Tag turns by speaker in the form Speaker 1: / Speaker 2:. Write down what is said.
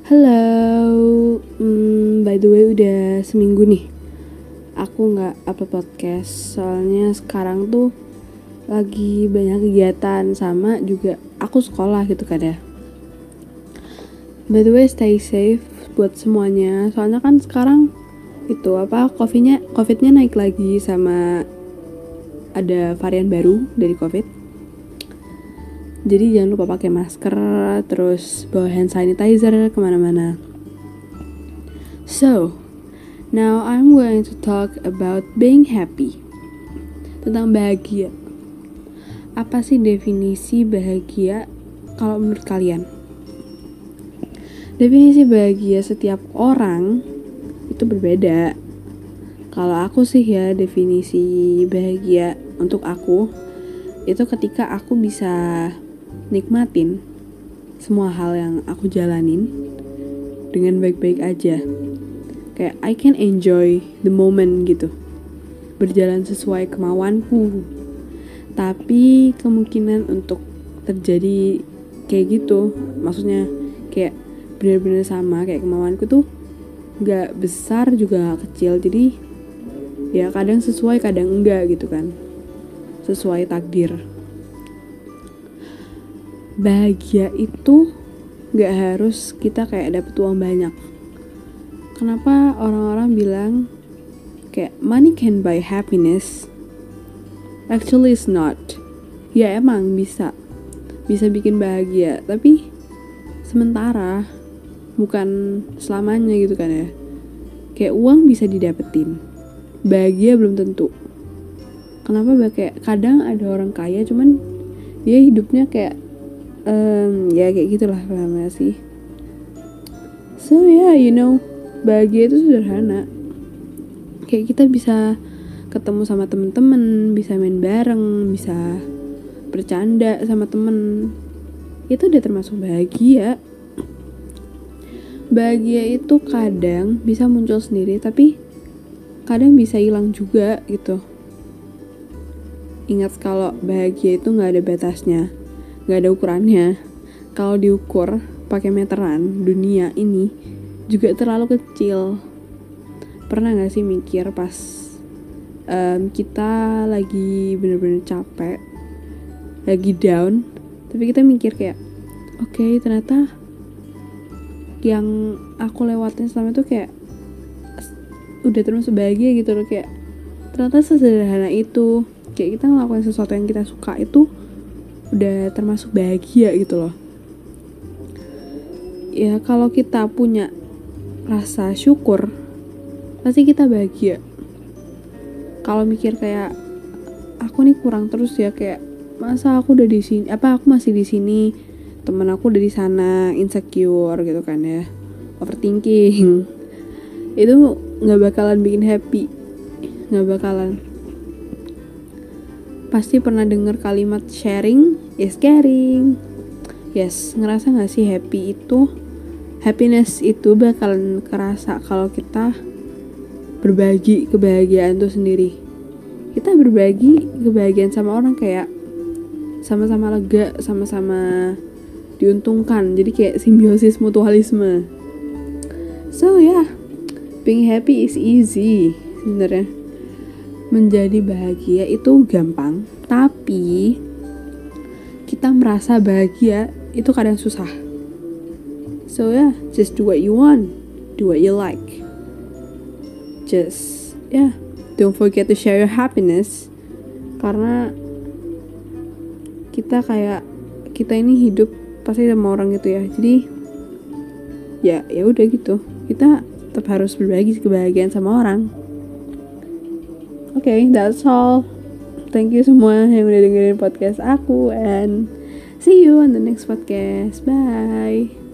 Speaker 1: Halo, by the way udah seminggu nih aku gak upload podcast. Soalnya sekarang tuh lagi banyak kegiatan sama juga aku sekolah gitu kan ya. By the way stay safe buat semuanya. Soalnya kan sekarang itu covidnya naik lagi sama ada varian baru dari covid. Jadi jangan lupa pakai masker, terus bawa hand sanitizer kemana-mana. So, now I'm going to talk about being happy. Tentang bahagia. Apa sih definisi bahagia kalau menurut kalian? Definisi bahagia setiap orang itu berbeda. Kalau aku sih ya, definisi bahagia untuk aku itu ketika aku bisa nikmatin semua hal yang aku jalanin dengan baik-baik aja. Kayak I can enjoy the moment gitu, berjalan sesuai kemauanku. Tapi kemungkinan untuk terjadi kayak gitu, maksudnya kayak benar-benar sama kayak kemauanku tuh gak besar juga gak kecil. Jadi ya kadang sesuai kadang enggak gitu kan, sesuai takdir. Bahagia itu gak harus kita kayak dapet uang banyak. Kenapa orang-orang bilang kayak money can buy happiness? Actually it's not. Ya emang bisa bikin bahagia, tapi sementara, bukan selamanya gitu kan ya. Kayak uang bisa didapetin, bahagia belum tentu. Kenapa kayak kadang ada orang kaya cuman dia hidupnya kayak ya kayak gitulah, paham gak sih? So yeah, bahagia itu sederhana. Kayak kita bisa ketemu sama temen-temen, bisa main bareng, bisa bercanda sama temen. Itu udah termasuk bahagia. Bahagia itu kadang bisa muncul sendiri, tapi kadang bisa hilang juga gitu. Ingat kalau bahagia itu gak ada batasnya, gak ada ukurannya. Kalau diukur pakai meteran, dunia ini juga terlalu kecil. Pernah gak sih mikir pas kita lagi bener-bener capek, lagi down, tapi kita mikir kayak okay, ternyata yang aku lewatin selama itu kayak udah termasuk bahagia gitu loh. Kayak ternyata sesederhana itu, kayak kita ngelakuin sesuatu yang kita suka itu udah termasuk bahagia gitu loh. Ya kalau kita punya rasa syukur, pasti kita bahagia. Kalau mikir kayak aku nih kurang terus ya, kayak masa aku udah di sini, aku masih di sini, temen aku udah di sana, insecure gitu kan ya, overthinking, itu nggak bakalan bikin happy, nggak bakalan. Pasti pernah dengar kalimat sharing is caring. Yes, ngerasa gak sih happiness itu bakalan kerasa kalau kita berbagi kebahagiaan itu sendiri. Kita berbagi kebahagiaan sama orang kayak sama-sama lega, sama-sama diuntungkan. Jadi kayak simbiosis mutualisme. So yeah, being happy is easy sebenarnya. Menjadi bahagia itu gampang, tapi kita merasa bahagia itu kadang susah. So yeah, just do what you want, do what you like. Just don't forget to share your happiness. Karena kita ini hidup pasti sama orang gitu ya. Jadi ya udah gitu. Kita tetap harus berbagi kebahagiaan sama orang. Okay, that's all. Thank you semua yang udah dengerin podcast aku, and see you on the next podcast. Bye.